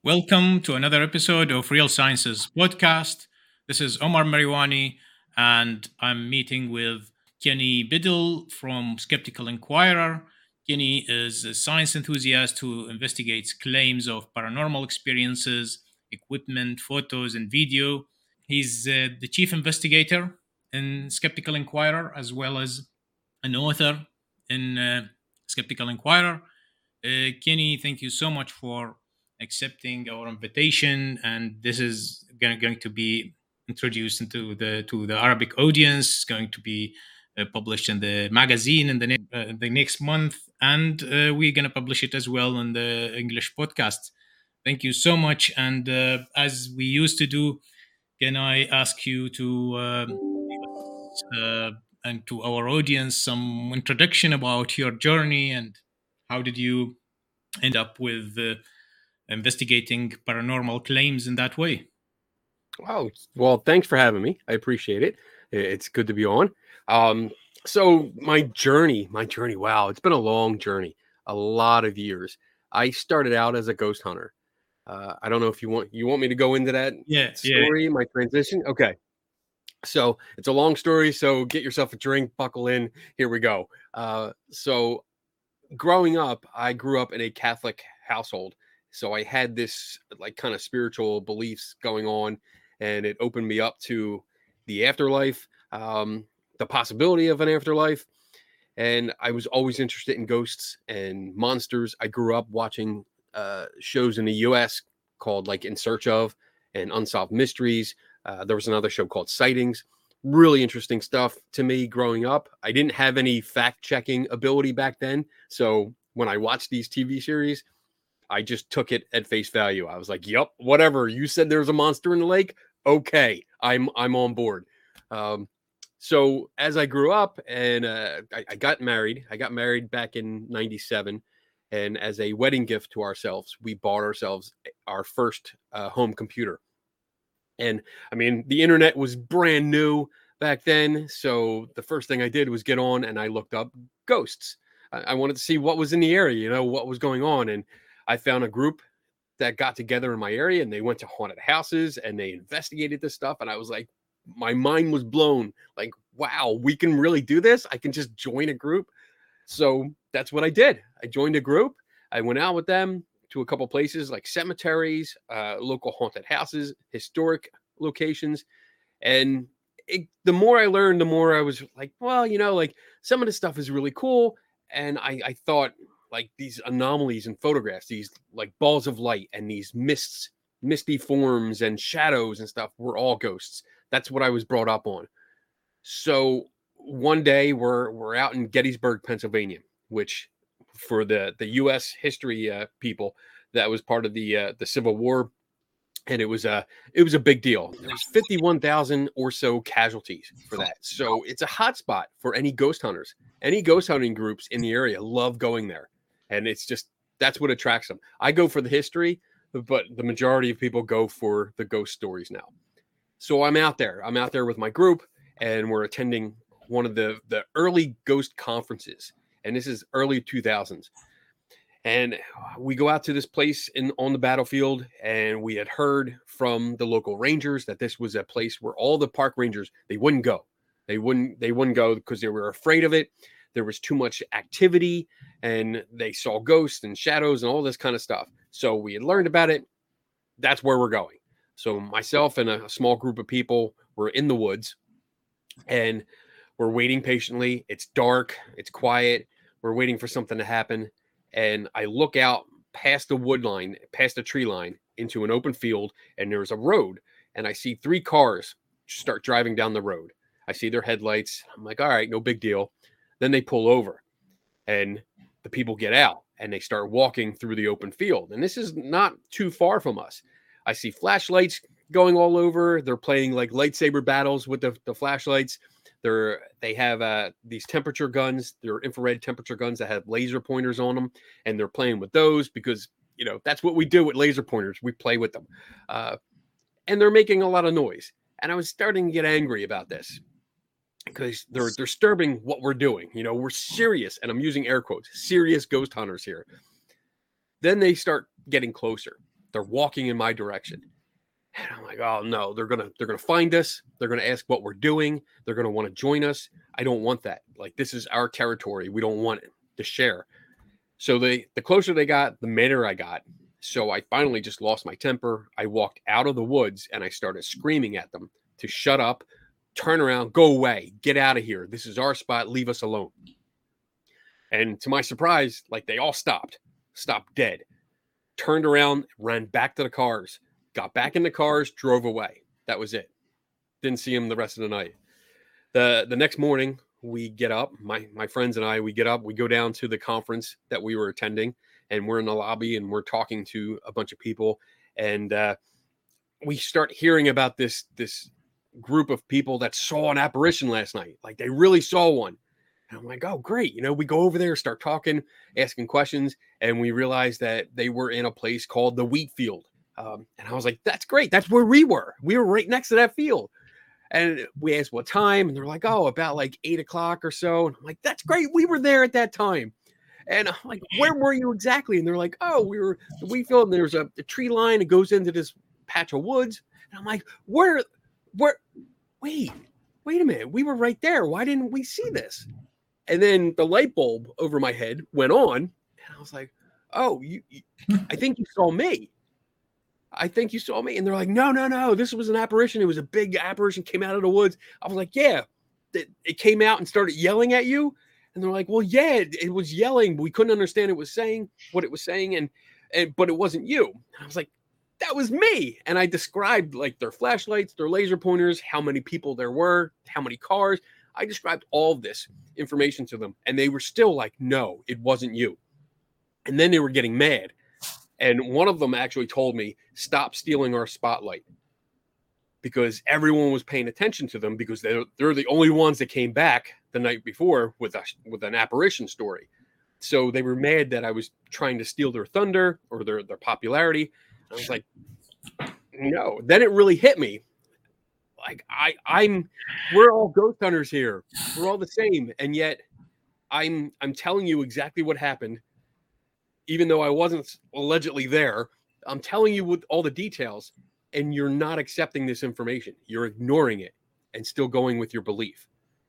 Welcome to another episode of Real Sciences podcast. This is Omar Mariwani, and I'm meeting with Kenny Biddle from Skeptical Inquirer. Kenny is a science enthusiast who investigates claims of paranormal experiences, equipment, photos, and video. He's the chief investigator in Skeptical Inquirer, as well as an author in Skeptical Inquirer. Kenny, thank you so much for accepting our invitation. And this is going to be introduced into the Arabic audience. It's going to be published in the magazine in the next month, and we're going to publish it as well in the English podcast. Thank you so much. And as we used to do, can I ask you to and to our audience some introduction about your journey and how did you end up with investigating paranormal claims in that way? Oh, well, thanks for having me. I appreciate it. It's good to be on. Um, so my journey, wow, it's been a long journey, a lot of years. I started out as a ghost hunter. I don't know if you want me to go into that Yeah. story, my transition. Okay. So it's a long story. So get yourself a drink, buckle in. Here we go. So growing up, I grew up in a Catholic household. So I had this like kind of spiritual beliefs going on, and it opened me up to the afterlife, the possibility of an afterlife. And I was always interested in ghosts and monsters. I grew up watching shows in the US called like In Search of and Unsolved Mysteries. There was another show called Sightings. Really interesting stuff to me growing up. I didn't have any fact checking ability back then. So when I watched these TV series, I just took it at face value. I was like, "Yep, whatever. You said there's a monster in the lake. Okay, I'm on board." Um, so as I grew up and I got married, back in '97, and as a wedding gift to ourselves, we bought ourselves our first home computer. And I mean, the internet was brand new back then, so the first thing I did was get on and I looked up ghosts. I wanted to see what was in the area, what was going on, and I found a group that got together in my area and they went to haunted houses and they investigated this stuff. And I was like, my mind was blown. Like, wow, we can really do this. I can just join a group. So that's what I did. I joined a group. I went out with them to a couple places like cemeteries, local haunted houses, historic locations. And the more I learned, the more I was like, well, like some of the stuff is really cool. And I thought like these anomalies in photographs, these like balls of light and these misty forms and shadows and stuff were all ghosts. That's what I was brought up on. So one day we're out in Gettysburg, Pennsylvania, which for the U.S. history people, that was part of the Civil War, and it was a big deal. There's 51,000 or so casualties for that. So it's a hot spot for any ghost hunters. Any ghost hunting groups in the area love going there, and it's just that's what attracts them. I go for the history, but the majority of people go for the ghost stories now. So I'm out there. I'm out there with my group, and we're attending one of the early ghost conferences, and this is early 2000s. And we go out to this place on the battlefield, and we had heard from the local rangers that this was a place where all the park rangers they wouldn't go. They wouldn't go because they were afraid of it. There was too much activity, and they saw ghosts and shadows and all this kind of stuff. So we had learned about it. That's where we're going. So myself and a small group of people were in the woods, and we're waiting patiently. It's dark. It's quiet. We're waiting for something to happen. And I look out past the wood line, past the tree line into an open field, and there's a road. And I see three cars start driving down the road. I see their headlights. I'm like, all right, no big deal. Then they pull over, and the people get out and they start walking through the open field. And this is not too far from us. I see flashlights going all over. They're playing like lightsaber battles with the flashlights. They have these temperature guns. They're infrared temperature guns that have laser pointers on them, and they're playing with those because that's what we do with laser pointers. We play with them, and they're making a lot of noise. And I was starting to get angry about this because they're disturbing what we're doing. We're serious, and I'm using air quotes, serious ghost hunters here. Then they start getting closer, They're walking in my direction. And I'm like, oh no, they're gonna find us. They're gonna ask what we're doing. They're gonna want to join us. I don't want that. Like, this is our territory. We don't want it to share. So the closer they got, the madder I got. So I finally just lost my temper. I walked out of the woods and I started screaming at them to shut up, turn around, go away, get out of here. This is our spot. Leave us alone. And to my surprise, like, they all stopped dead, turned around, ran back to the cars, got back in the cars, drove away. That was it. Didn't see him the rest of the night. The next morning, we get up, my friends and I, we get up, we go down to the conference that we were attending, and we're in the lobby and we're talking to a bunch of people. And we start hearing about this group of people that saw an apparition last night. Like, they really saw one. And I'm like, oh, great. You know, we go over there, start talking, asking questions, and we realized that they were in a place called the wheat field. And I was like, that's great. That's where we were. We were right next to that field. And we asked what time, and they're like, oh, about like 8 o'clock or so. And I'm like, that's great. We were there at that time. And I'm like, where were you exactly? And they're like, oh, we were the wheat field, and there's a tree line that goes into this patch of woods. And I'm like, where, wait a minute. We were right there. Why didn't we see this? And then the light bulb over my head went on, and I was like, oh, I think you saw me. I think you saw me. And they're like, no, this was an apparition. It was a big apparition, came out of the woods. I was like, yeah, it came out and started yelling at you. And they're like, well, yeah, it was yelling. But we couldn't understand what it was saying. But it wasn't you. And I was like, that was me. And I described, like, their flashlights, their laser pointers, how many people there were, how many cars. I described all of this information to them. And they were still like, no, it wasn't you. And then they were getting mad. And one of them actually told me, stop stealing our spotlight, because everyone was paying attention to them, because they're the only ones that came back the night before with an apparition story. So they were mad that I was trying to steal their thunder or their popularity. I was like, no. Then it really hit me. Like, we're all ghost hunters here. We're all the same. And yet I'm telling you exactly what happened. Even though I wasn't allegedly there, I'm telling you with all the details, and you're not accepting this information. You're ignoring it and still going with your belief.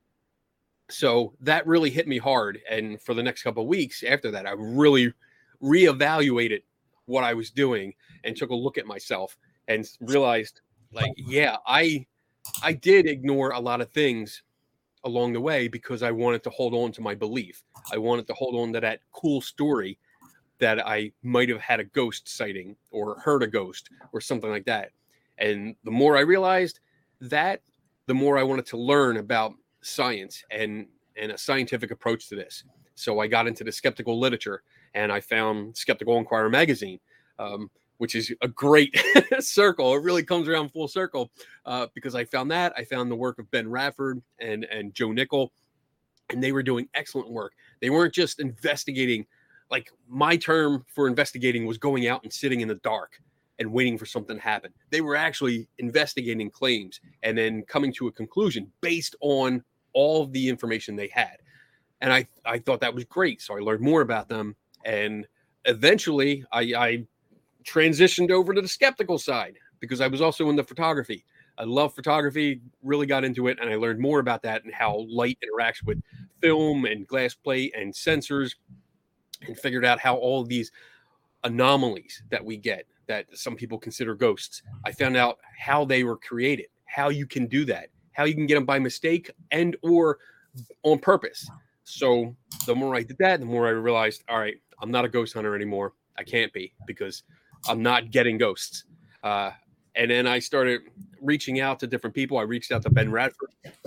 So that really hit me hard. And for the next couple of weeks after that, I really reevaluated what I was doing and took a look at myself and realized, like, yeah, I did ignore a lot of things along the way because I wanted to hold on to my belief. I wanted to hold on to that cool story that I might have had a ghost sighting or heard a ghost or something like that. And the more I realized that, the more I wanted to learn about science and a scientific approach to this. So I got into the skeptical literature, and I found Skeptical Inquirer magazine, which is a great circle. It really comes around full circle because I found that. I found the work of Ben Radford and Joe Nickell, and they were doing excellent work. They weren't just investigating. Like, my term for investigating was going out and sitting in the dark and waiting for something to happen. They were actually investigating claims and then coming to a conclusion based on all of the information they had. And I thought that was great. So I learned more about them. And eventually I transitioned over to the skeptical side because I was also into photography. I love photography, really got into it. And I learned more about that and how light interacts with film and glass plate and sensors, and figured out how all of these anomalies that we get, that some people consider ghosts, I found out how they were created, how you can do that, how you can get them by mistake and or on purpose. So the more I did that, the more I realized, all right, I'm not a ghost hunter anymore. I can't be, because I'm not getting ghosts. And then I started reaching out to different people. I reached out to Ben Radford,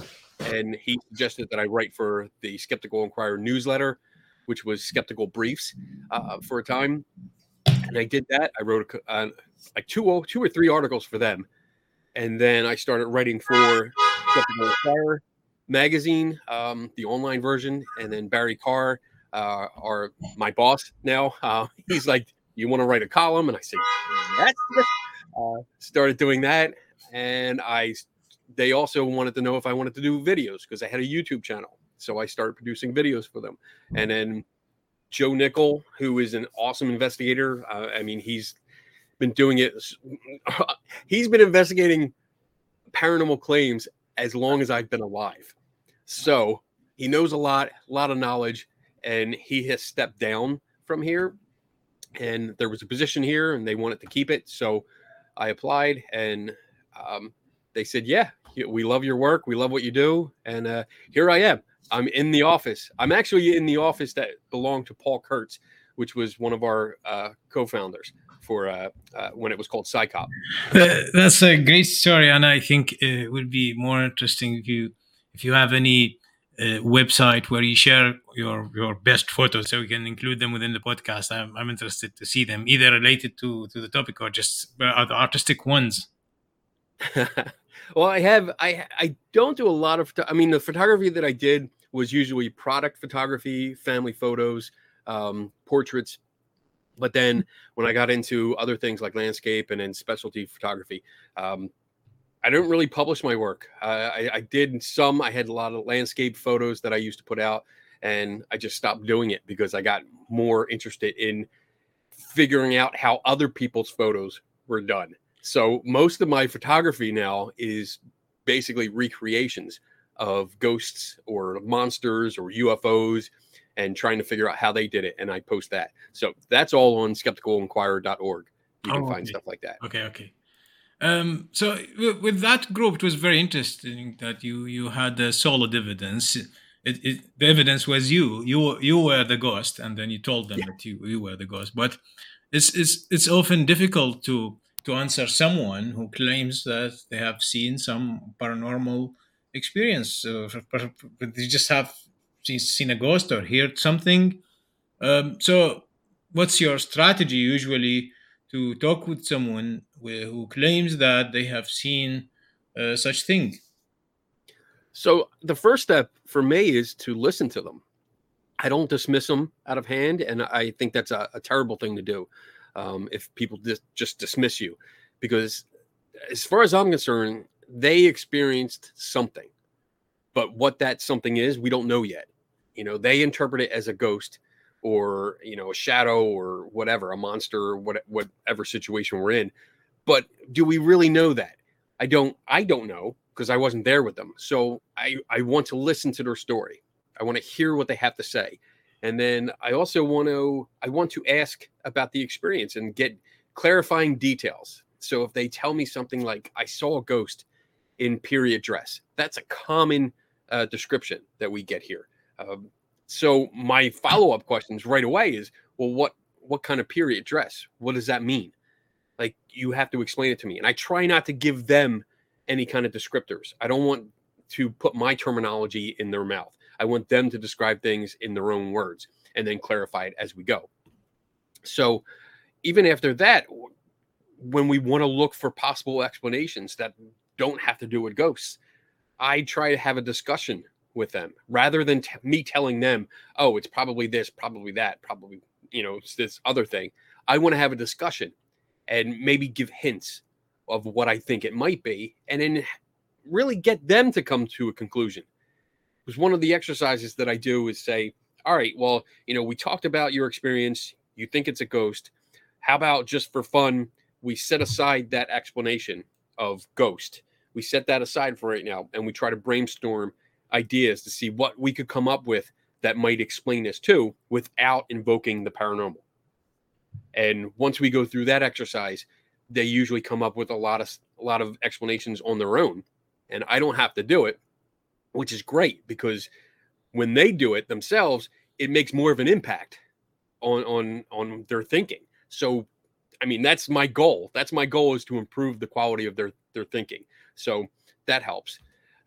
and he suggested that I write for the Skeptical Inquirer newsletter, which was Skeptical Briefs for a time. And I did that. I wrote like two or three articles for them. And then I started writing for Skeptical Inquirer magazine, the online version. And then Barry Carr, my boss now, he's like, you want to write a column? And I said, yes. Started doing that. And they also wanted to know if I wanted to do videos because I had a YouTube channel. So I started producing videos for them. And then Joe Nickell, who is an awesome investigator. I mean, he's been doing it. He's been investigating paranormal claims as long as I've been alive. So he knows a lot of knowledge, and he has stepped down from here. And there was a position here, and they wanted to keep it. So I applied, and they said, "Yeah, we love your work. We love what you do." And here I am. I'm in the office. I'm actually in the office that belonged to Paul Kurtz, which was one of our co-founders for when it was called PsyCop. That's a great story, and I think it would be more interesting if you have any website where you share your best photos, so we can include them within the podcast. I'm interested to see them, either related to the topic or just the artistic ones. Well, I don't do a lot of, the photography that I did was usually product photography, family photos, portraits. But then when I got into other things like landscape and then specialty photography, I don't really publish my work. I did some. I had a lot of landscape photos that I used to put out, and I just stopped doing it because I got more interested in figuring out how other people's photos were done. So most of my photography now is basically recreations of ghosts or monsters or UFOs, and trying to figure out how they did it. And I post that. So that's all on skepticalenquirer.org. You can find stuff like that. Okay. So with that group, it was very interesting that you had the solid evidence. The evidence was you were the ghost, and then you told them that you were the ghost. But it's often difficult to answer someone who claims that they have seen some paranormal experience. They just have seen a ghost or heard something. So what's your strategy usually to talk with someone who claims that they have seen such thing? So the first step for me is to listen to them. I don't dismiss them out of hand, and I think that's a terrible thing to do if people just dismiss you, because as far as I'm concerned, they experienced something, but what that something is, we don't know yet. They interpret it as a ghost or, a shadow or whatever, a monster or whatever situation we're in. But do we really know that? I don't know, because I wasn't there with them. So I want to listen to their story. I want to hear what they have to say. And then I also want to ask about the experience and get clarifying details. So if they tell me something like, I saw a ghost in period dress, that's a common description that we get here. So my follow-up questions right away is, well, what kind of period dress? What does that mean? Like, you have to explain it to me. And I try not to give them any kind of descriptors. I don't want to put my terminology in their mouth. I want them to describe things in their own words and then clarify it as we go. So even after that, when we want to look for possible explanations that don't have to do with ghosts, I try to have a discussion with them rather than me telling them, oh, it's probably this, probably that, probably, it's this other thing. I want to have a discussion and maybe give hints of what I think it might be, and then really get them to come to a conclusion. Because one of the exercises that I do is say, all right, well, we talked about your experience. You think it's a ghost. How about, just for fun, we set aside that explanation of ghost. We set that aside for right now, and we try to brainstorm ideas to see what we could come up with that might explain this too, without invoking the paranormal. And once we go through that exercise, they usually come up with a lot of explanations on their own, and I don't have to do it, which is great, because when they do it themselves, it makes more of an impact on their thinking. So, that's my goal. That's my goal, is to improve the quality of their thinking. So that helps.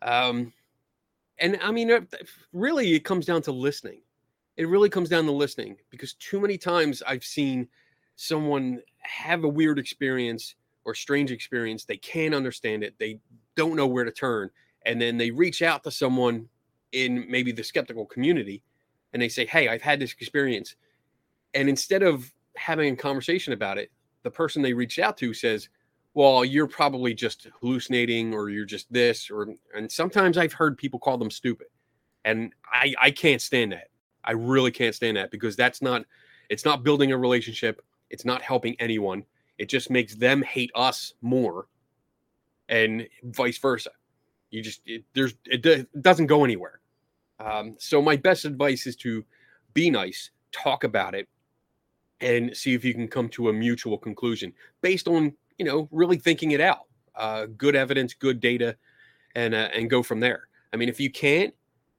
And really, it comes down to listening. It really comes down to listening, because too many times I've seen someone have a weird experience or strange experience. They can't understand it. They don't know where to turn. And then they reach out to someone in maybe the skeptical community, and they say, hey, I've had this experience. And instead of having a conversation about it, the person they reached out to says, well, you're probably just hallucinating, or you're just this, and sometimes I've heard people call them stupid. And I can't stand that. I really can't stand that, because it's not building a relationship. It's not helping anyone. It just makes them hate us more, and vice versa. It doesn't go anywhere. So my best advice is to be nice, talk about it, and see if you can come to a mutual conclusion based on, really thinking it out. Good evidence, good data, and go from there. I mean, if you can't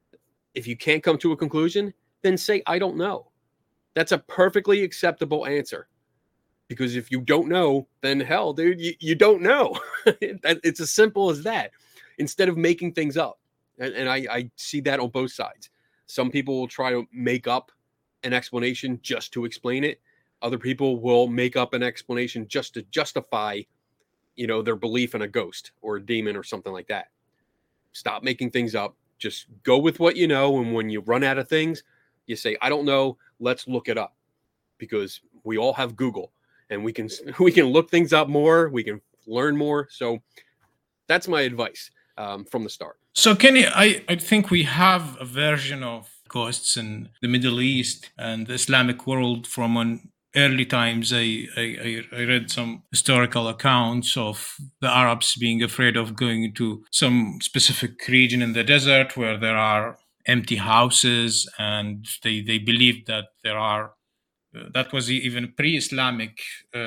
come to a conclusion, then say, I don't know. That's a perfectly acceptable answer. Because if you don't know, then hell, dude, you don't know. It's as simple as that. Instead of making things up. And I see that on both sides. Some people will try to make up an explanation just to explain it. Other people will make up an explanation just to justify, their belief in a ghost or a demon or something like that. Stop making things up. Just go with what you know. And when you run out of things, you say, I don't know. Let's look it up. Because we all have Google, and we can look things up more. We can learn more. So that's my advice from the start. So, Kenny, I think we have a version of ghosts in the Middle East and the Islamic world from an early times. I read some historical accounts of the Arabs being afraid of going to some specific region in the desert where there are empty houses, and they believed that there are that was even pre-Islamic.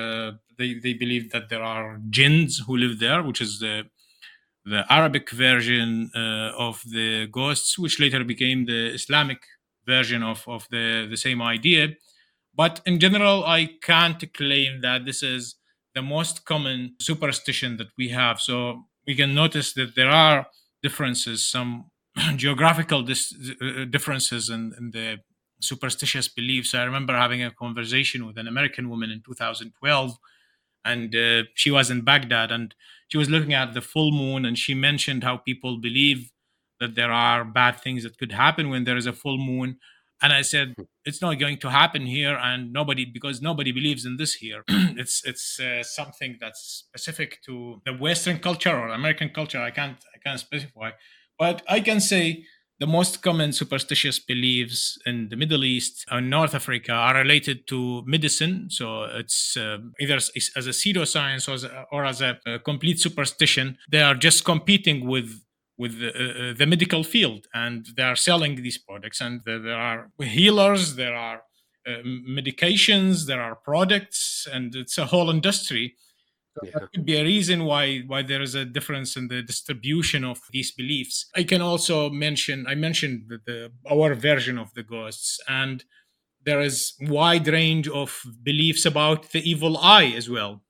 They believed that there are jinns who live there, which is the Arabic version of the ghosts, which later became the Islamic version of the same idea. But in general, I can't claim that this is the most common superstition that we have. So we can notice that there are differences, some geographical differences in the superstitious beliefs. I remember having a conversation with an American woman in 2012, and she was in Baghdad, and she was looking at the full moon, and she mentioned how people believe that there are bad things that could happen when there is a full moon. And I said, it's not going to happen here, and because nobody believes in this here. It's something that's specific to the Western culture or American culture. I can't specify, but I can say the most common superstitious beliefs in the Middle East and North Africa are related to medicine. So it's either as a pseudoscience or as a complete superstition. They are just competing with the medical field, and they are selling these products. And there are healers, there are medications, there are products, and it's a whole industry. So that could be a reason why there is a difference in the distribution of these beliefs. I can also mention I mentioned our version of the ghosts, and there is wide range of beliefs about the evil eye as well.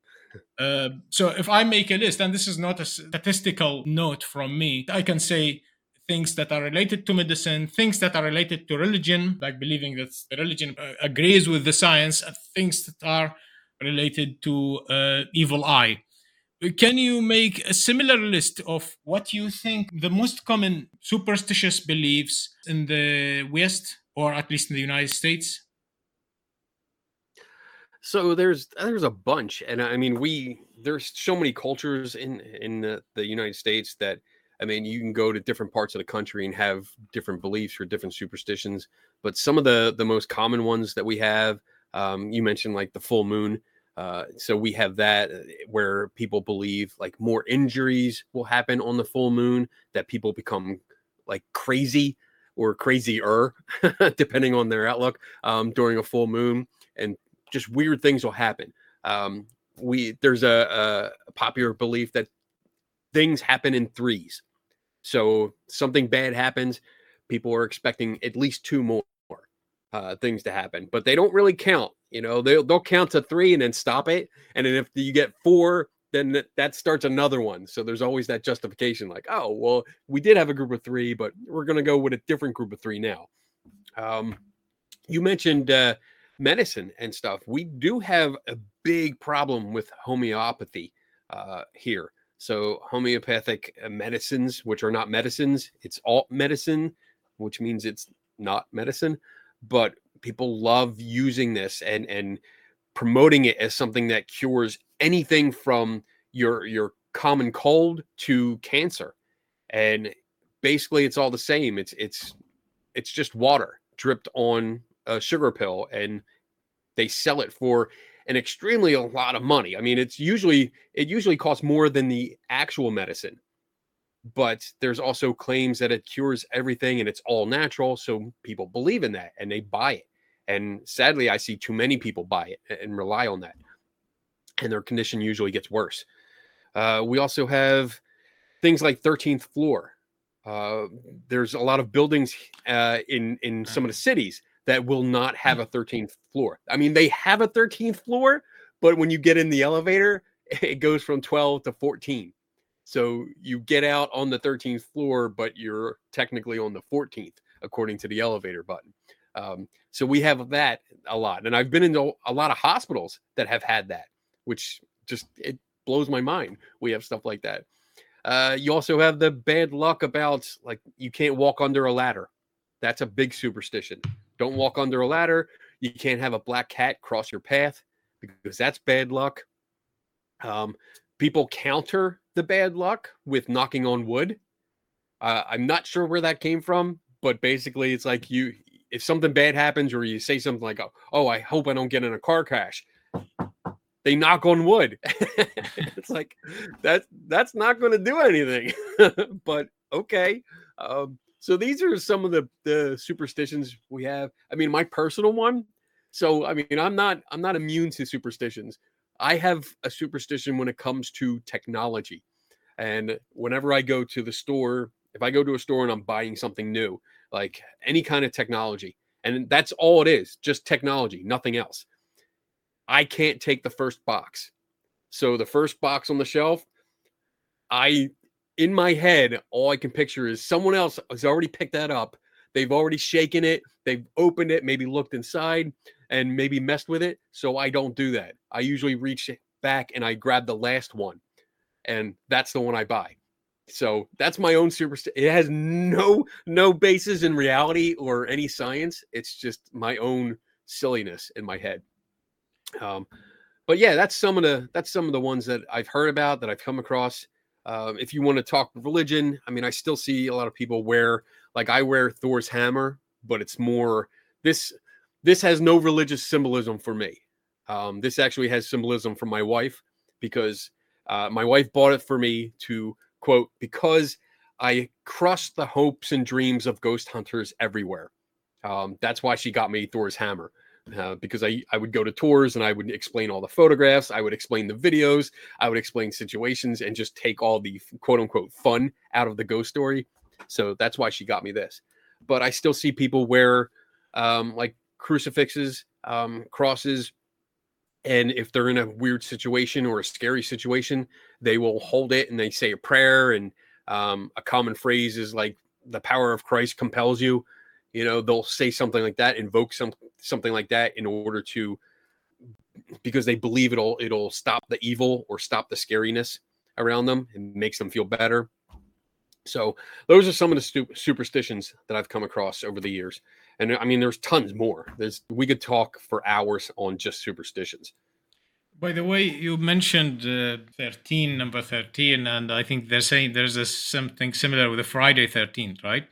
So if I make a list, and this is not a statistical note from me, I can say things that are related to medicine, things that are related to religion, like believing that the religion agrees with the science, and things that are related to evil eye. Can you make a similar list of what you think the most common superstitious beliefs in the West, or at least in the United States? So there's a bunch, and I mean there's so many cultures in the United States that, I mean, you can go to different parts of the country and have different beliefs or different superstitions. But some of the most common ones that we have, you mentioned like the full moon. So we have that where people believe like more injuries will happen on the full moon, that people become like crazy or crazier, depending on their outlook, during a full moon, and just weird things will happen. There's a popular belief that things happen in threes. So something bad happens, people are expecting at least two more things to happen, but they don't really count. They'll count to three and then stop it. And then if you get four, then that starts another one. So there's always that justification, like, oh, well, we did have a group of three, but we're going to go with a different group of three now. You mentioned medicine and stuff. We do have a big problem with homeopathy here. So homeopathic medicines, which are not medicines, it's alt medicine, which means it's not medicine. But people love using this and promoting it as something that cures anything from your common cold to cancer. And basically it's all the same. It's just water dripped on a sugar pill, and they sell it for and extremely a lot of money. I mean, it usually costs more than the actual medicine, but there's also claims that it cures everything and it's all natural. So people believe in that and they buy it. And sadly, I see too many people buy it and rely on that, and their condition usually gets worse. We also have things like 13th floor. There's a lot of buildings in some of the cities that will not have a 13th floor. I mean, they have a 13th floor, but when you get in the elevator, it goes from 12 to 14. So you get out on the 13th floor, but you're technically on the 14th, according to the elevator button. So we have that a lot. And I've been into a lot of hospitals that have had that, which just, it blows my mind. We have stuff like that. You also have the bad luck about, like, you can't walk under a ladder. That's a big superstition. Don't walk under a ladder. You can't have a black cat cross your path because that's bad luck. People counter the bad luck with knocking on wood. I'm not sure where that came from, but basically it's like if something bad happens or you say something like, oh, I hope I don't get in a car crash, they knock on wood. It's like, that's not going to do anything. But okay. So these are some of the superstitions we have. I mean, my personal one. So, I mean, I'm not immune to superstitions. I have a superstition when it comes to technology. And whenever I go to the store, if I go to a store and I'm buying something new, like any kind of technology, and that's all it is, just technology, nothing else, I can't take the first box. So the first box on the shelf, in my head, all I can picture is someone else has already picked that up. They've already shaken it. They've opened it, maybe looked inside and maybe messed with it. So I don't do that. I usually reach back and I grab the last one, and that's the one I buy. So that's my own superstition. It has no basis in reality or any science. It's just my own silliness in my head. But yeah, that's some of the ones that I've heard about, that I've come across. If you want to talk religion, I mean, I still see a lot of people wear, like, I wear Thor's hammer, but it's more this has no religious symbolism for me. This actually has symbolism from my wife, because my wife bought it for me to, quote, because I crushed the hopes and dreams of ghost hunters everywhere. That's why she got me Thor's hammer. Because I would go to tours and I would explain all the photographs, I would explain the videos, I would explain situations, and just take all the quote unquote fun out of the ghost story. So that's why she got me this. But I still see people wear like crucifixes, crosses, and if they're in a weird situation or a scary situation, they will hold it and they say a prayer. And a common phrase is like, the power of Christ compels you. You know, they'll say something like that, invoke something like that in order to, because they believe it'll stop the evil or stop the scariness around them and makes them feel better. So those are some of the superstitions that I've come across over the years. And I mean, there's tons more. We could talk for hours on just superstitions. By the way, you mentioned 13, number 13, and I think they're saying there's something similar with the Friday 13th, right?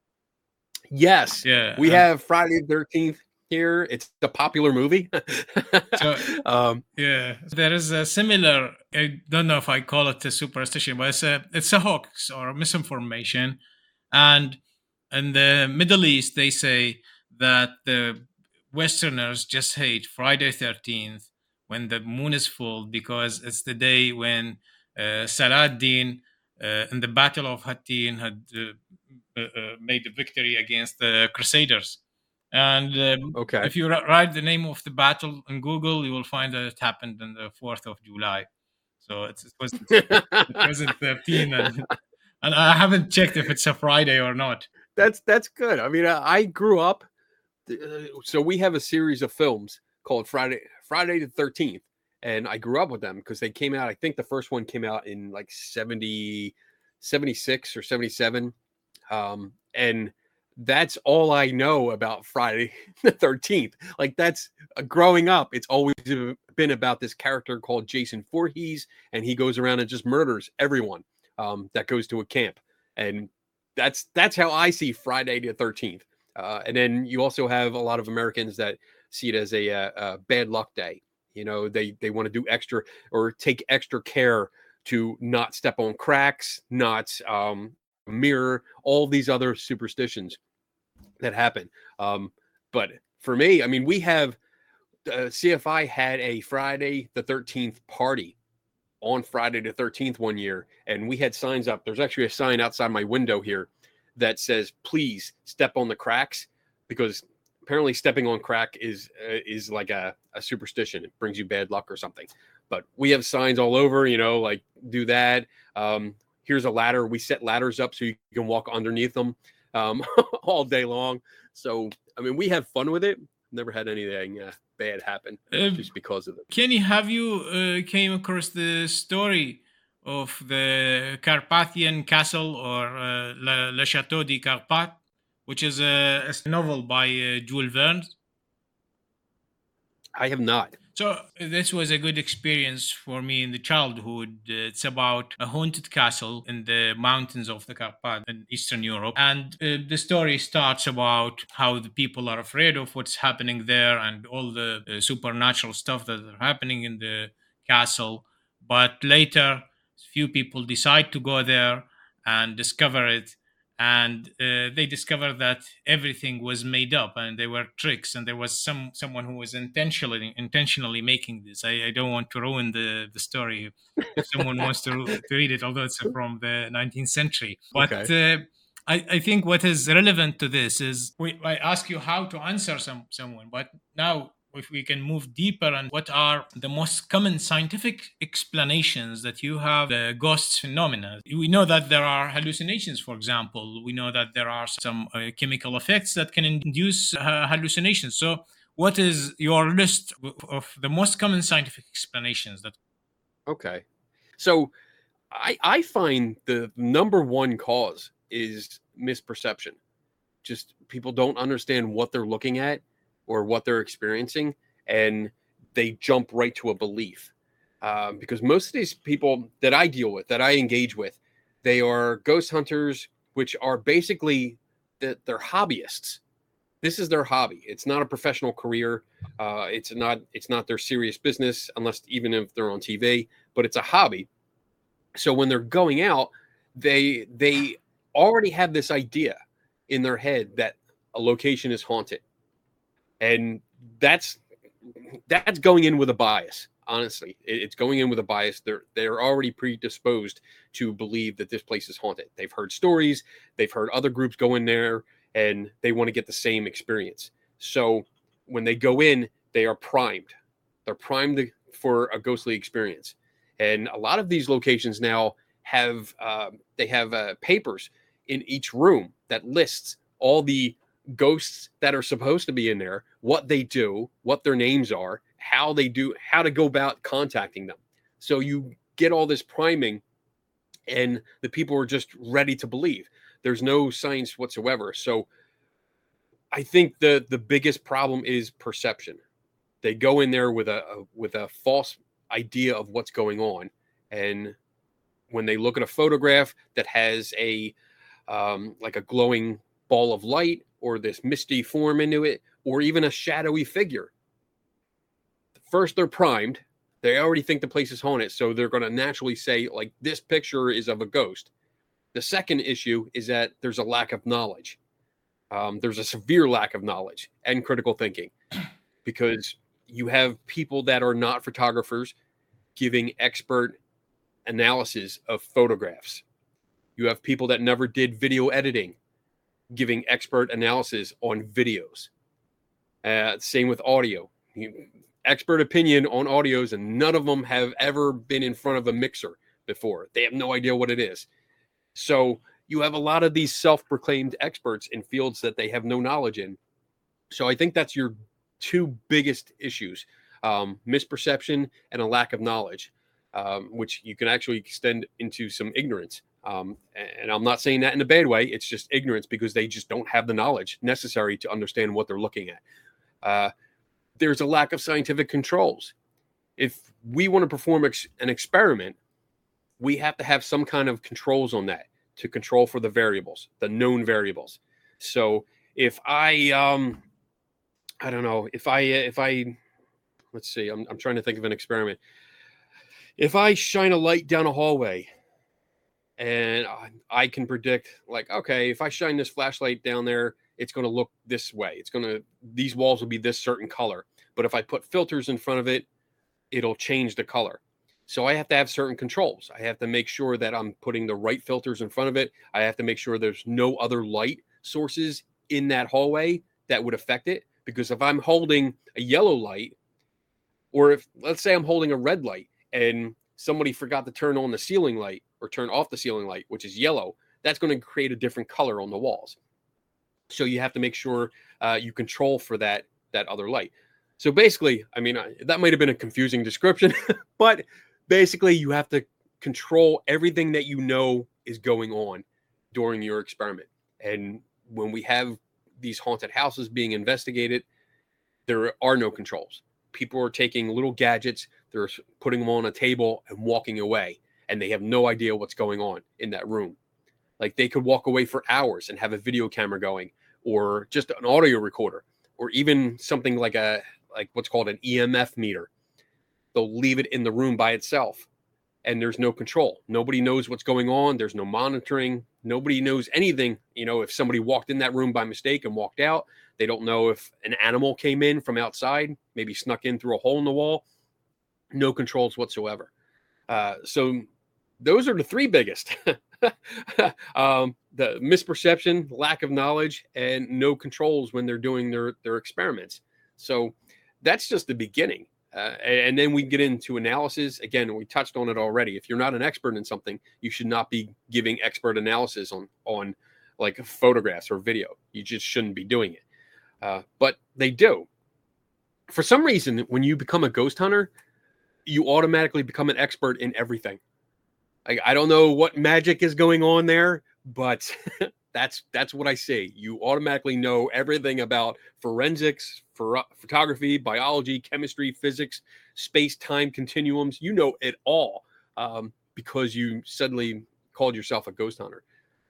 Yes. Yeah. We have Friday the 13th here. It's a popular movie. So, yeah, there is a similar, I don't know if I call it a superstition, but it's a hoax or a misinformation. And in the Middle East, they say that the Westerners just hate Friday 13th when the moon is full, because it's the day when Saladin in the Battle of Hattin had made the victory against the Crusaders. And Okay. if you write the name of the battle on Google, you will find that it happened on the 4th of July. So it wasn't 13. And I haven't checked if it's a Friday or not. That's good. I mean, I grew up. So we have a series of films called Friday the 13th. And I grew up with them because they came out. I think the first one came out in like 76 or 77. And that's all I know about Friday the 13th. Like, that's growing up, it's always been about this character called Jason Voorhees, and he goes around and just murders everyone that goes to a camp. And that's how I see Friday the 13th. And then you also have a lot of Americans that see it as a bad luck day. You know, they want to do extra or take extra care to not step on cracks, not mirror all these other superstitions that happen. But for me, I mean, we have CFI had a Friday the 13th party on Friday the 13th one year, and we had signs up. There's actually a sign outside my window here that says, "Please step on the cracks," because apparently stepping on crack is like a superstition. It brings you bad luck or something. But we have signs all over, you know, like do that. Here's a ladder. We set ladders up so you can walk underneath them all day long. So, I mean, we have fun with it. Never had anything bad happen just because of it. Kenny, have you came across the story of the Carpathian Castle or Le Chateau de Carpath, which is a novel by Jules Verne? I have not. So this was a good experience for me in the childhood. It's about a haunted castle in the mountains of the Carpath in Eastern Europe, and the story starts about how the people are afraid of what's happening there and all the supernatural stuff that are happening in the castle. But later, few people decide to go there and discover it, and they discovered that everything was made up and they were tricks, and there was someone who was intentionally making this. I don't want to ruin the story if someone wants to read it, although it's from the 19th century. But Okay. I think what is relevant to this is I ask you how to answer someone, but now if we can move deeper, and what are the most common scientific explanations that you have the ghost phenomena? We know that there are hallucinations, for example. We know that there are some chemical effects that can induce hallucinations. So what is your list of the most common scientific explanations that? Okay. So I find the number one cause is misperception. Just people don't understand what they're looking at or what they're experiencing, and they jump right to a belief. Because most of these people that I deal with, that I engage with, they are ghost hunters, which are basically they're hobbyists. This is their hobby. It's not a professional career. It's not their serious business, unless even if they're on TV. But it's a hobby. So when they're going out, they already have this idea in their head that a location is haunted, and that's going in with a bias. Honestly, it's going in with a bias. They're already predisposed to believe that this place is haunted. They've heard stories, they've heard other groups go in there, and they want to get the same experience. So when they go in, they are primed. They're primed for a ghostly experience. And a lot of these locations now have papers in each room that lists all the ghosts that are supposed to be in there, what they do, what their names are, how to go about contacting them. So you get all this priming, and the people are just ready to believe. There's no science whatsoever. So I think the biggest problem is perception. They go in there with a false idea of what's going on, and when they look at a photograph that has a like a glowing ball of light or this misty form into it, or even a shadowy figure, first they're primed. They already think the place is haunted, so they're going to naturally say, like, this picture is of a ghost. The second issue is that there's a lack of knowledge. There's a severe lack of knowledge and critical thinking, because you have people that are not photographers giving expert analysis of photographs. You have people that never did video editing giving expert analysis on videos. Same with audio. Expert opinion on audios, and none of them have ever been in front of a mixer before. They have no idea what it is. So you have a lot of these self-proclaimed experts in fields that they have no knowledge in. So I think that's your two biggest issues, misperception and a lack of knowledge, which you can actually extend into some ignorance. And I'm not saying that in a bad way. It's just ignorance, because they just don't have the knowledge necessary to understand what they're looking at. There's a lack of scientific controls. If we want to perform an experiment, we have to have some kind of controls on that to control for the variables, the known variables. So if I don't know, if I let's see. I'm trying to think of an experiment. If I shine a light down a hallway and I can predict, like, okay, if I shine this flashlight down there, it's going to look this way. These walls will be this certain color. But if I put filters in front of it, it'll change the color. So I have to have certain controls. I have to make sure that I'm putting the right filters in front of it. I have to make sure there's no other light sources in that hallway that would affect it. Because if I'm holding a yellow light, or if, let's say, I'm holding a red light and somebody forgot to turn on the ceiling light or turn off the ceiling light, which is yellow, that's going to create a different color on the walls. So you have to make sure you control for that other light. So basically, I mean, that might have been a confusing description, but basically you have to control everything that you know is going on during your experiment. And when we have these haunted houses being investigated, there are no controls. People are taking little gadgets, they're putting them on a table and walking away, and they have no idea what's going on in that room. Like, they could walk away for hours and have a video camera going, or just an audio recorder, or even something like what's called an EMF meter. They'll leave it in the room by itself, and there's no control. Nobody knows what's going on. There's no monitoring. Nobody knows anything. You know, if somebody walked in that room by mistake and walked out, they don't know if an animal came in from outside, maybe snuck in through a hole in the wall. No controls whatsoever. So those are the three biggest. The misperception, lack of knowledge, and no controls when they're doing their experiments. So that's just the beginning. And then we get into analysis. Again, we touched on it already. If you're not an expert in something, you should not be giving expert analysis on like photographs or video. You just shouldn't be doing it. But they do. For some reason, when you become a ghost hunter, you automatically become an expert in everything. I don't know what magic is going on there, but that's what I see. You automatically know everything about forensics, photography, biology, chemistry, physics, space-time continuums. You know it all because you suddenly called yourself a ghost hunter.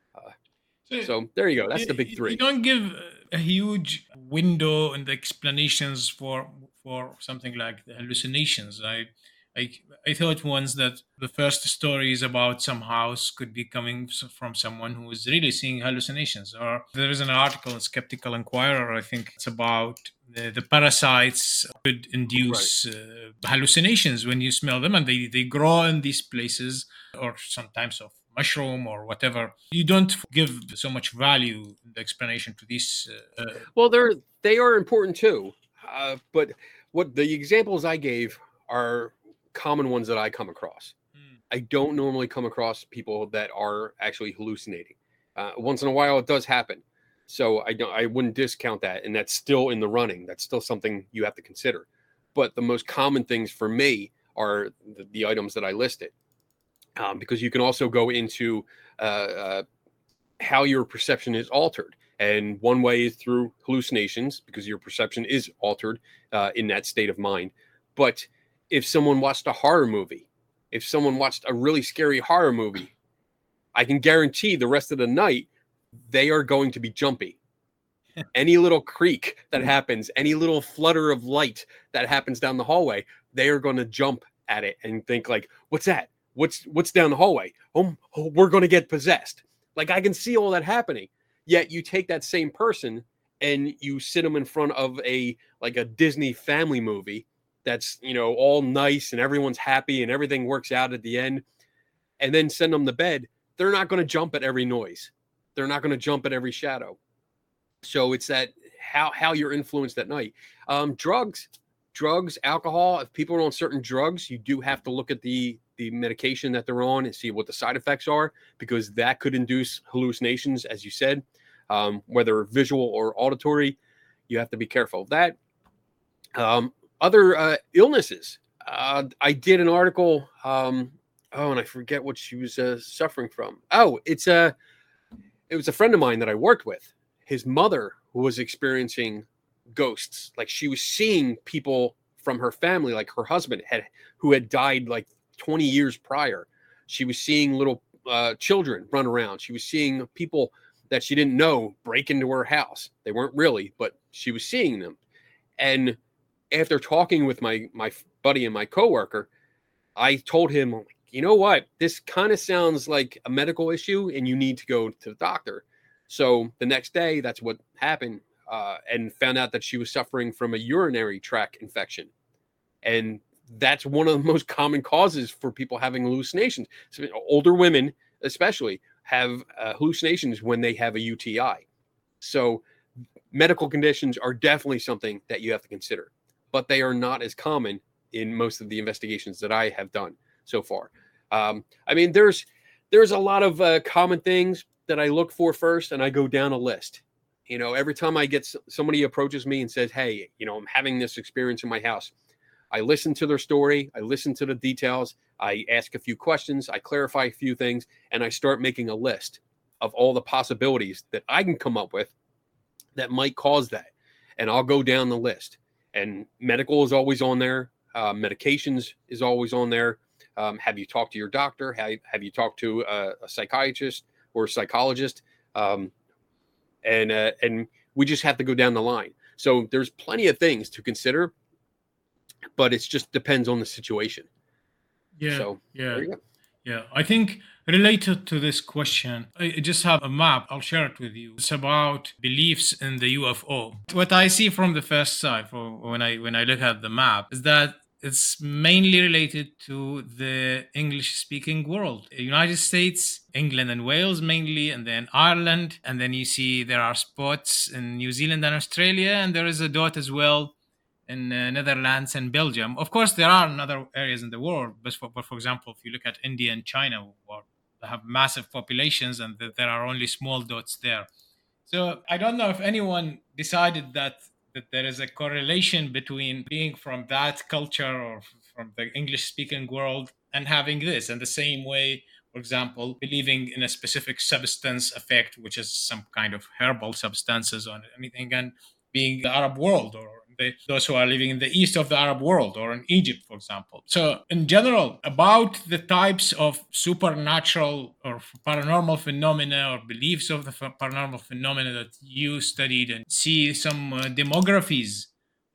So there you go. That's the big three. You don't give a huge window in the explanations for something like the hallucinations. I thought once that the first story is about some house could be coming from someone who is really seeing hallucinations. Or there is an article in Skeptical Inquirer, I think it's about the parasites could induce hallucinations when you smell them, and they grow in these places, or sometimes of mushroom or whatever. You don't give so much value in the explanation to these. Well, they are important too. But what the examples I gave are common ones that I come across. I don't normally come across people that are actually hallucinating. Once in a while, it does happen. So I wouldn't discount that, and that's still in the running. That's still something you have to consider. But the most common things for me are the items that I listed, because you can also go into how your perception is altered. And one way is through hallucinations, because your perception is altered in that state of mind. But if someone watched a horror movie, if someone watched a really scary horror movie, I can guarantee the rest of the night, they are going to be jumpy. Any little creak that happens, any little flutter of light that happens down the hallway, they are going to jump at it and think like, what's that? What's down the hallway? Oh, we're going to get possessed. Like, I can see all that happening. Yet you take that same person and you sit them in front of a Disney family movie that's, all nice and everyone's happy and everything works out at the end, and then send them to bed. They're not going to jump at every noise. They're not going to jump at every shadow. So it's that how you're influenced at night. Drugs, alcohol. If people are on certain drugs, you do have to look at the medication that they're on and see what the side effects are, because that could induce hallucinations, as you said, whether visual or auditory. You have to be careful of that. Other illnesses. I did an article. And I forget what she was suffering from. Oh, it was a friend of mine that I worked with. His mother was experiencing ghosts. Like, she was seeing people from her family, like her husband who had died like 20 years prior. She was seeing little children run around. She was seeing people that she didn't know break into her house. They weren't really, but she was seeing them. And after talking with my buddy and my coworker, I told him, you know what, this kind of sounds like a medical issue and you need to go to the doctor. So the next day, that's what happened, and found out that she was suffering from a urinary tract infection. And that's one of the most common causes for people having hallucinations. So older women, especially, have hallucinations when they have a UTI. So medical conditions are definitely something that you have to consider, but they are not as common in most of the investigations that I have done so far. I mean, there's a lot of common things that I look for first, and I go down a list. You know, every time I get somebody approaches me and says, "Hey, you know, I'm having this experience in my house," I listen to their story, I listen to the details, I ask a few questions, I clarify a few things, and I start making a list of all the possibilities that I can come up with that might cause that. And I'll go down the list. And medical is always on there. Medications is always on there. Have you talked to your doctor? Have you talked to a psychiatrist or a psychologist? And we just have to go down the line. So there's plenty of things to consider, but it just depends on the situation. Yeah. So there you go. Yeah, I think related to this question, I just have a map. I'll share it with you. It's about beliefs in the UFO. What I see from the first side, when I look at the map, is that it's mainly related to the English-speaking world. United States, England and Wales mainly, and then Ireland. And then you see there are spots in New Zealand and Australia, and there is a dot as well in Netherlands and Belgium. Of course, there are in other areas in the world, but for example, if you look at India and China, they have massive populations and there are only small dots there. So I don't know if anyone decided that there is a correlation between being from that culture or from the English-speaking world and having this. And the same way, for example, believing in a specific substance effect, which is some kind of herbal substances or anything, and being the Arab world or those who are living in the east of the Arab world or in Egypt, for example. So, in general, about the types of supernatural or paranormal phenomena or beliefs of the paranormal phenomena that you studied and see some demographies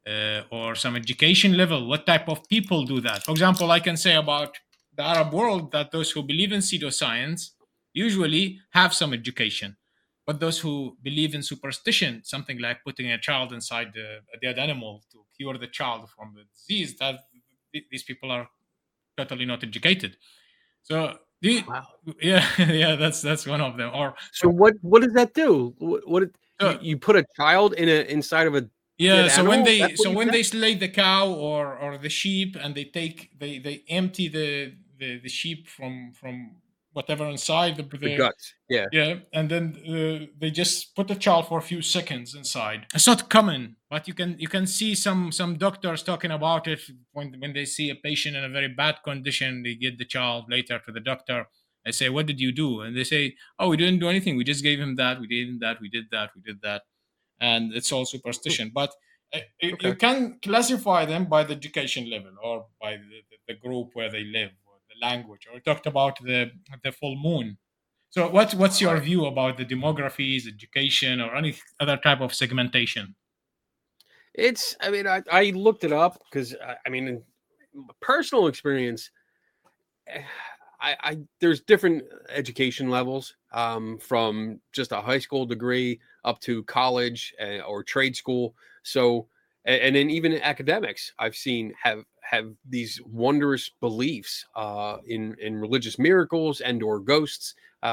or some education level, what type of people do that? For example, I can say about the Arab world that those who believe in pseudoscience usually have some education. But those who believe in superstition, something like putting a child inside a dead animal to cure the child from the disease, that these people are totally not educated. So, Wow. yeah, yeah, that's one of them. Or So what does that do? What you put a child inside of a yeah, dead so animal? That's what you when said? they slay the cow or the sheep and they empty the sheep from whatever inside The guts. Yeah. yeah, and then they just put the child for a few seconds inside. It's not common, but you can see some doctors talking about it when they see a patient in a very bad condition. They get the child later to the doctor. I say, "What did you do?" And they say, "Oh, we didn't do anything. We just gave him that. We did him that. We did that. We did that." And it's all superstition. But you Okay. can classify them by the education level or by the group where they live or the language. Or we talked about the full moon. So what's your Right. view about the demographies, education, or any other type of segmentation? I mean, I looked it up because I mean, in personal experience, eh, there's different education levels, from just a high school degree up to college or trade school. So, and then even academics, I've seen have these wondrous beliefs in religious miracles and or ghosts.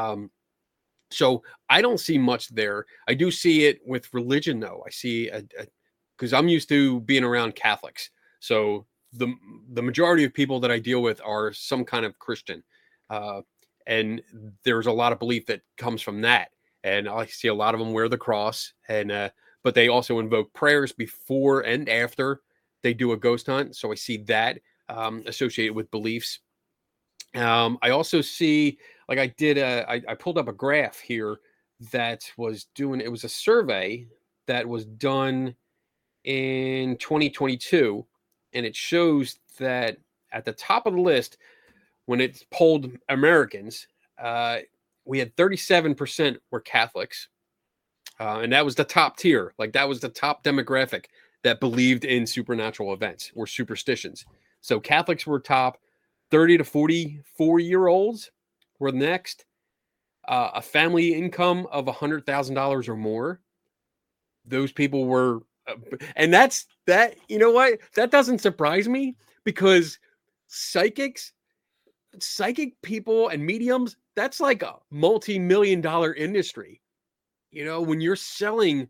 So I don't see much there. I do see it with religion, though. I see because I'm used to being around Catholics. So the majority of people that I deal with are some kind of Christian, uh, and there's a lot of belief that comes from that. And I see a lot of them wear the cross, and but they also invoke prayers before and after they do a ghost hunt. So I see that associated with beliefs. I also see, like I pulled up a graph here that was doing, it was a survey that was done in 2022, and it shows that at the top of the list, when it polled Americans, we had 37% were Catholics, and that was the top tier. Like that was the top demographic that believed in supernatural events or superstitions. So Catholics were top, 30 to 44-year-olds were next. A family income of $100,000 or more. Those people were, and that's that. You know what? That doesn't surprise me because psychic people and mediums, that's like a multi-million-dollar industry. You know, when you're selling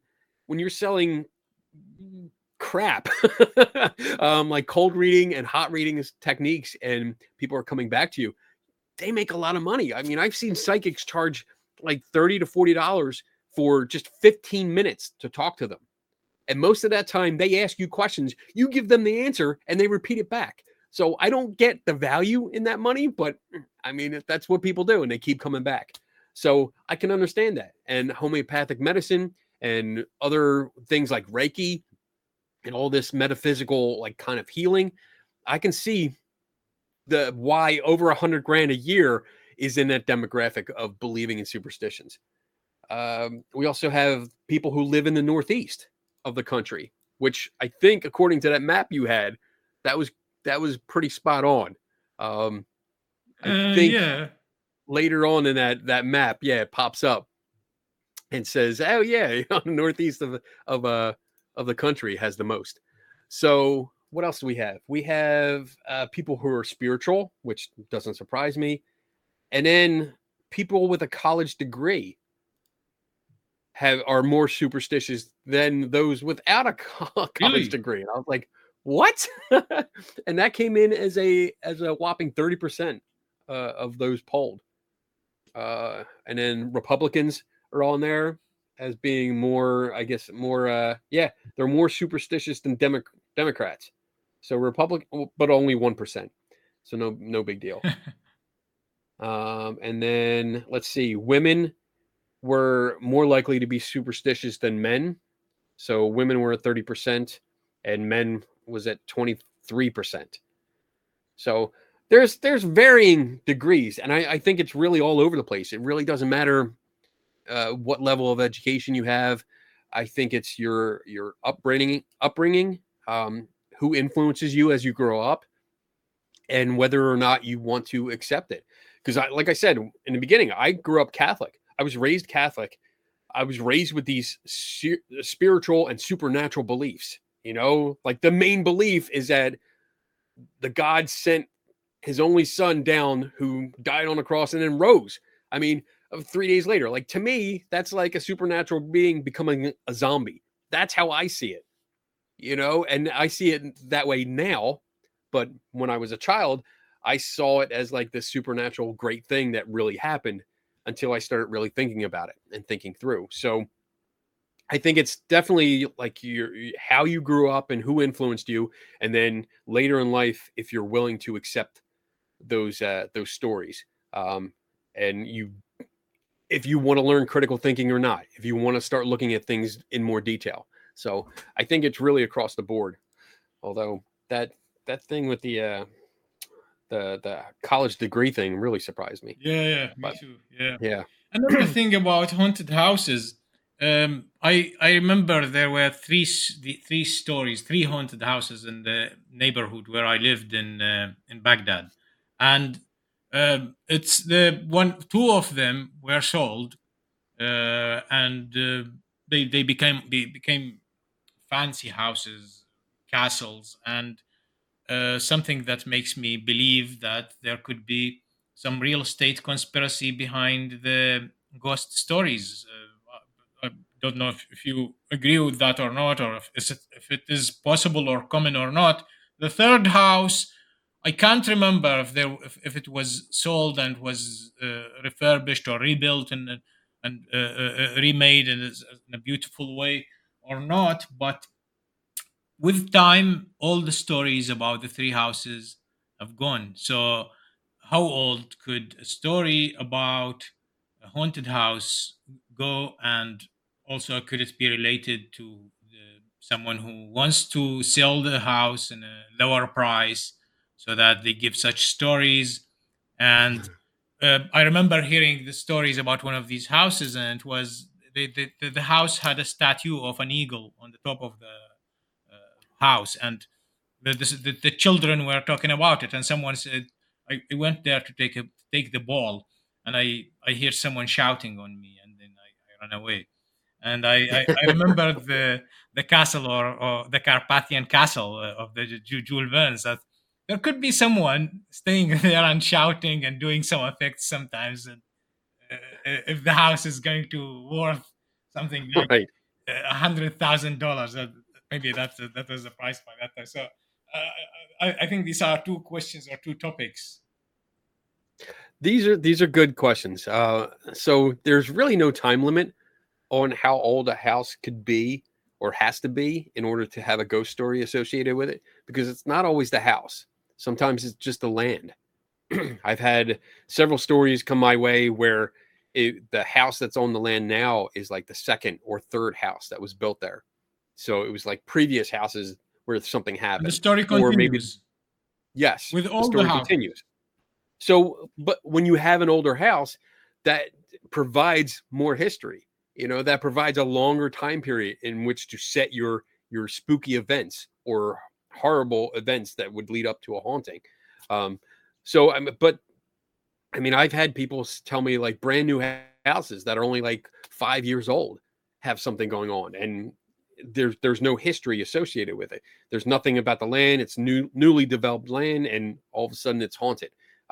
crap, like cold reading and hot reading techniques, and people are coming back to you, they make a lot of money. I mean, I've seen psychics charge like $30 to $40 for just 15 minutes to talk to them. And most of that time, they ask you questions, you give them the answer, and they repeat it back. So I don't get the value in that money, but I mean, that's what people do, and they keep coming back. So I can understand that. And homeopathic medicine and other things like Reiki and all this metaphysical, like kind of healing, I can see the why over $100,000 a year is in that demographic of believing in superstitions. We also have people who live in the Northeast of the country, which I think, according to that map you had, that was pretty spot on. I think Yeah. later on in that map, yeah, it pops up and says, "Oh yeah, the Northeast of the country has the most." So what else do we have? We have people who are spiritual, which doesn't surprise me, and then people with a college degree are more superstitious than those without a college Really? degree. And I was like, what? And that came in as a whopping 30% of those polled. And then Republicans are on there as being more, I guess, more, they're more superstitious than Democrats. So Republican, but only 1%. So no big deal. And then let's see, women were more likely to be superstitious than men. So women were at 30% and men was at 23%. So there's varying degrees. And I think it's really all over the place. It really doesn't matter what level of education you have. I think it's your upbringing, who influences you as you grow up, and whether or not you want to accept it. Because like I said in the beginning, I grew up Catholic. I was raised Catholic. I was raised with these spiritual and supernatural beliefs. You know, like the main belief is that the God sent his only son down who died on a cross and then rose. I mean, 3 days later, like to me, that's like a supernatural being becoming a zombie. That's how I see it, you know, and I see it that way now. But when I was a child, I saw it as like this supernatural great thing that really happened until I started really thinking about it and thinking through. So I think it's definitely like how you grew up and who influenced you. And then later in life, if you're willing to accept those stories, and if you want to learn critical thinking or not, if you want to start looking at things in more detail. So I think it's really across the board. Although that thing with the college degree thing really surprised me. Yeah, me But too. Yeah. yeah. Another thing about haunted houses, I remember there were three stories, three haunted houses in the neighborhood where I lived in Baghdad, and it's two of them were sold, and they became fancy houses, castles, and something that makes me believe that there could be some real estate conspiracy behind the ghost stories. I don't know if you agree with that or not, or if it is possible or common or not. The third house, I can't remember if it was sold and was refurbished or rebuilt and remade in a beautiful way or not, but with time, all the stories about the three houses have gone. So, how old could a story about a haunted house go? And also, could it be related to someone who wants to sell the house in a lower price so that they give such stories? And I remember hearing the stories about one of these houses, and it was the house had a statue of an eagle on the top of house, and the children were talking about it, and someone said, I went there to take the ball, and I hear someone shouting on me, and then I ran away. And I remember the castle, or the Carpathian castle of the Jules Verne's, that there could be someone staying there and shouting and doing some effects sometimes. And if the house is going to worth something like Right. $100,000, maybe that was the price by that time. So I think these are two questions or two topics. These are good questions. So there's really no time limit on how old a house could be or has to be in order to have a ghost story associated with it, because it's not always the house. Sometimes it's just the land. I've had several stories come my way where the house that's on the land now is like the second or third house that was built there. So it was like previous houses where something And happened. the story Or maybe, continues yes, with the all the story houses. continues. So, but when you have an older house, that provides more history. That provides a longer time period in which to set your spooky events or horrible events that would lead up to a haunting. So, but I mean, I've had people tell me like brand new houses that are only like 5 years old have something going on, and there's no history associated with it. There's nothing about the land. It's newly developed land, and all of a sudden it's haunted.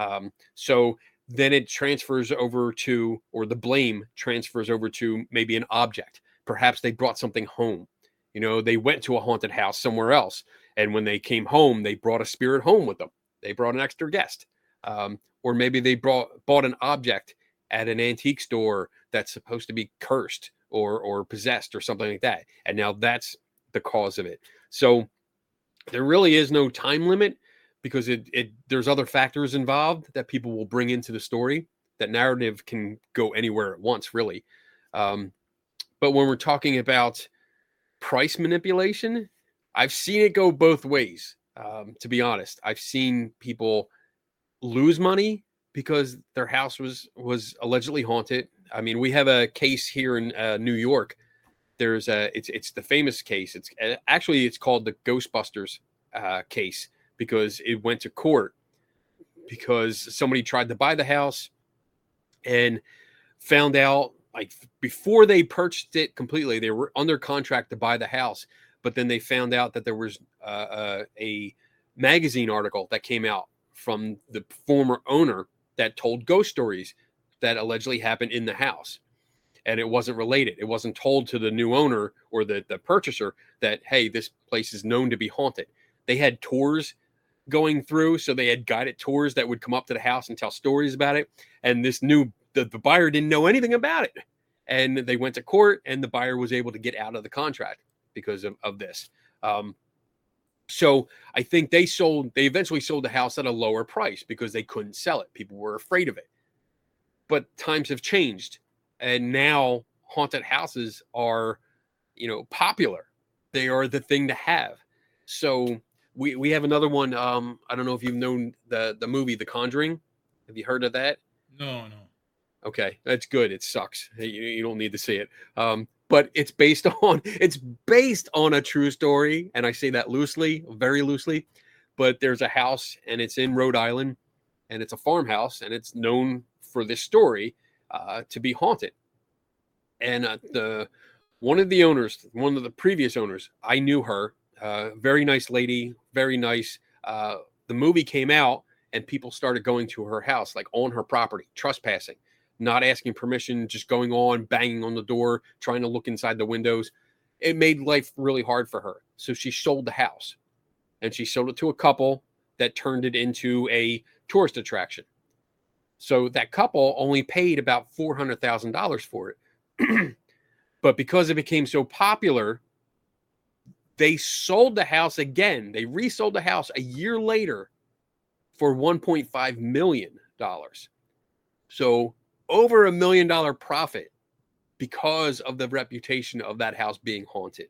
So then it transfers over to, or the blame transfers over to maybe an object. Perhaps they brought something home. They went to a haunted house somewhere else, and when they came home, they brought a spirit home with them. They brought an extra guest. Or maybe they bought an object at an antique store that's supposed to be cursed or possessed or something like that. And now that's the cause of it. So there really is no time limit, because there's other factors involved that people will bring into the story. That narrative can go anywhere at once, really. But when we're talking about price manipulation, I've seen it go both ways. To be honest, I've seen people lose money because their house was allegedly haunted. I mean, we have a case here in New York. It's the famous case. It's called the Ghostbusters case, because it went to court because somebody tried to buy the house and found out, like, before they purchased it completely, they were under contract to buy the house, but then they found out that there was a magazine article that came out from the former owner that told ghost stories that allegedly happened in the house. And it wasn't related. It wasn't told to the new owner or the purchaser that, hey, this place is known to be haunted. They had tours going through, so they had guided tours that would come up to the house and tell stories about it. And the buyer didn't know anything about it. And they went to court, and the buyer was able to get out of the contract because of this. So I think they eventually sold the house at a lower price because they couldn't sell it. People were afraid of it. But times have changed, and now haunted houses are, popular. They are the thing to have. So we have another one. I don't know if you've known the movie The Conjuring. Have you heard of that? No. Okay, that's good. It sucks. You don't need to see it. But it's based on a true story, and I say that loosely, very loosely. But there's a house, and it's in Rhode Island, and it's a farmhouse, and it's known for this story to be haunted. And one of the previous owners, I knew her. Very nice lady, very nice. The movie came out, and people started going to her house, like on her property, trespassing, not asking permission, just going on, banging on the door, trying to look inside the windows. It made life really hard for her. So she sold the house, and she sold it to a couple that turned it into a tourist attraction. So that couple only paid about $400,000 for it. But because it became so popular, they sold the house again. They resold the house a year later for $1.5 million. So over $1 million profit because of the reputation of that house being haunted.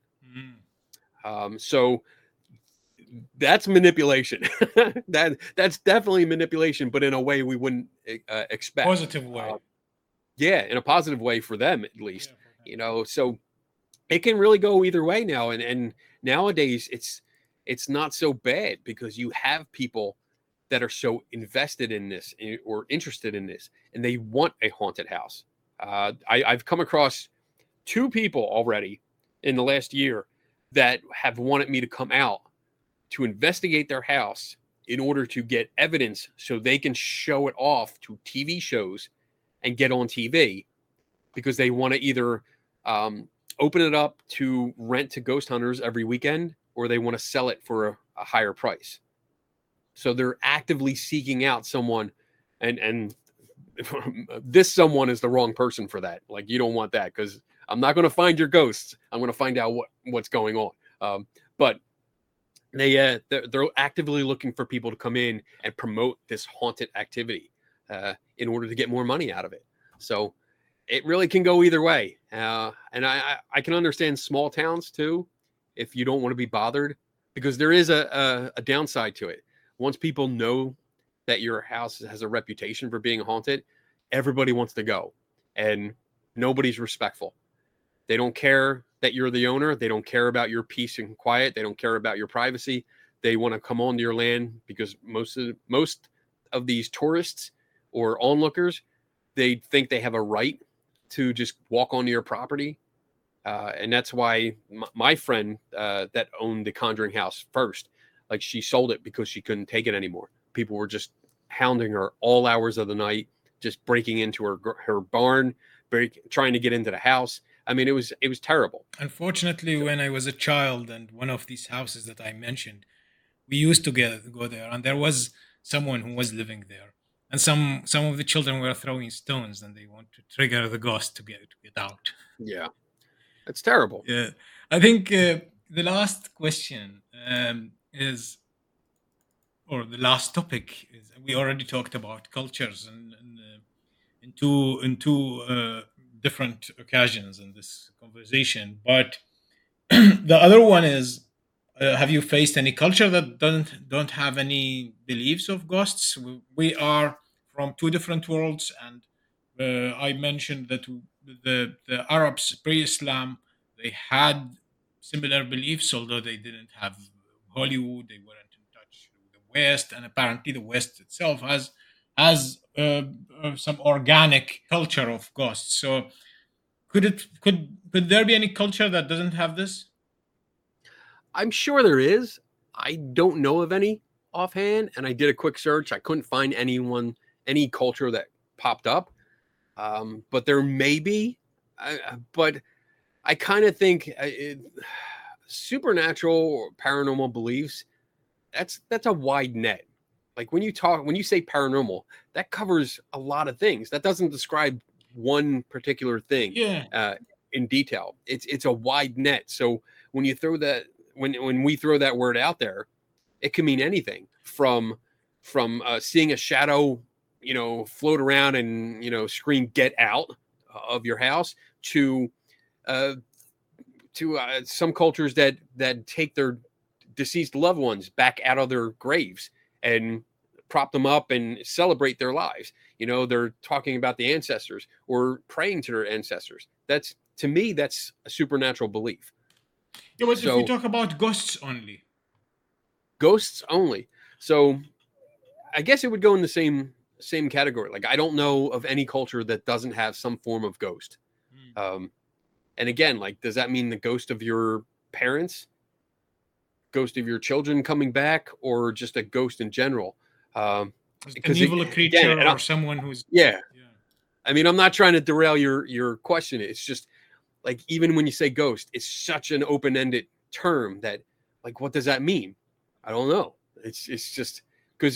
So that's manipulation. That's definitely manipulation, but in a way we wouldn't expect. Positive way. Yeah, in a positive way for them, at least. Yeah, for them. So it can really go either way now. And nowadays it's not so bad because you have people that are so invested in this or interested in this, and they want a haunted house. I've come across 2 people already in the last year that have wanted me to come out to investigate their house in order to get evidence so they can show it off to TV shows and get on TV, because they want to either open it up to rent to ghost hunters every weekend, or they want to sell it for a higher price. So they're actively seeking out someone, and this someone is the wrong person for that. Like, you don't want that, because I'm not going to find your ghosts. I'm going to find out what's going on. But they're actively looking for people to come in and promote this haunted activity in order to get more money out of it. So it really can go either way. And I can understand small towns too, if you don't want to be bothered, because there is a downside to it. Once people know that your house has a reputation for being haunted, everybody wants to go, and nobody's respectful. They don't care that you're the owner. They don't care about your peace and quiet. They don't care about your privacy. They want to come onto your land because most of these tourists or onlookers, they think they have a right to just walk onto your property. And that's why my friend that owned the Conjuring house first, like, she sold it because she couldn't take it anymore. People were just hounding her all hours of the night, just breaking into her barn, trying to get into the house. I mean, it was terrible. Unfortunately, when I was a child, and one of these houses that I mentioned, we used to go there, and there was someone who was living there, and some of the children were throwing stones, and they want to trigger the ghost to get out. Yeah, it's terrible. Yeah, I think the last question is, or the last topic is, we already talked about cultures and in two different occasions in this conversation, but the other one is, have you faced any culture that don't have any beliefs of ghosts? We are from two different worlds, and I mentioned that the Arabs pre-Islam, they had similar beliefs, although they didn't have Hollywood. They weren't in touch with the West, and apparently the West itself has some organic culture of ghosts. So could there be any culture that doesn't have this? I'm sure there is. I don't know of any offhand, and I did a quick search. I couldn't find any culture that popped up. But there may be. But I kind of think supernatural or paranormal beliefs, that's a wide net. Like, when you say paranormal, that covers a lot of things. That doesn't describe one particular thing in detail. It's a wide net. So when you throw that, when we throw that word out there, it can mean anything from seeing a shadow, float around and scream "get out" of your house, to some cultures that take their deceased loved ones back out of their graves and prop them up and celebrate their lives. They're talking about the ancestors or praying to their ancestors. To me, that's a supernatural belief. Yeah, but if we talk about ghosts only. Ghosts only. So I guess it would go in the same category. Like, I don't know of any culture that doesn't have some form of ghost. And again, like, does that mean the ghost of your parents, ghost of your children coming back, or just a ghost in general? An evil creature, or someone who's... Yeah. I mean, I'm not trying to derail your question. It's just, like, even when you say ghost, it's such an open-ended term that, like, what does that mean? I don't know. It's just because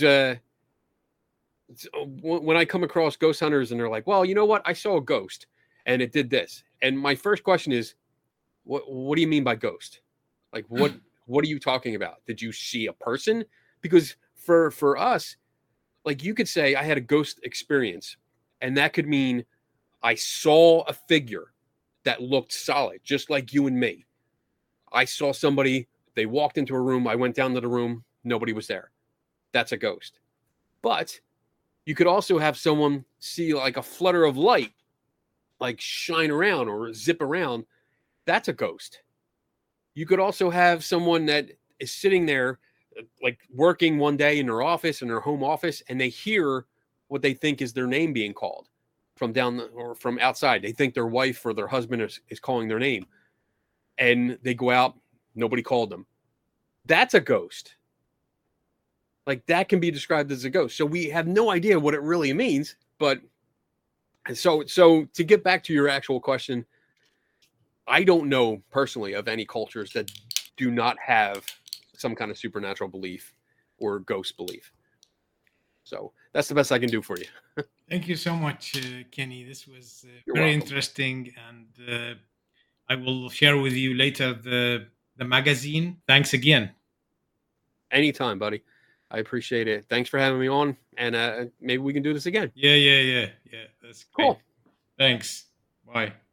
when I come across ghost hunters and they're like, well, you know what? I saw a ghost and it did this. And my first question is, what do you mean by ghost? Like, what are you talking about? Did you see a person? Because for us, like, you could say I had a ghost experience, and that could mean I saw a figure that looked solid, just like you and me. I saw somebody, they walked into a room, I went down to the room, nobody was there. That's a ghost. But you could also have someone see, like, a flutter of light, like, shine around or zip around. That's a ghost. You could also have someone that is sitting there like working one day in their office, in their home office, and they hear what they think is their name being called from or from outside. They think their wife or their husband is calling their name, and they go out. Nobody called them. That's a ghost. Like, that can be described as a ghost. So we have no idea what it really means. But so to get back to your actual question, I don't know personally of any cultures that do not have some kind of supernatural belief or ghost belief. So that's the best I can do for you. Thank you so much, Kenny. This was You're very welcome. interesting, and I will share with you later the magazine. Thanks again. Anytime, buddy. I appreciate it. Thanks for having me on, and maybe we can do this again. Yeah. That's great. Cool. Thanks. Bye.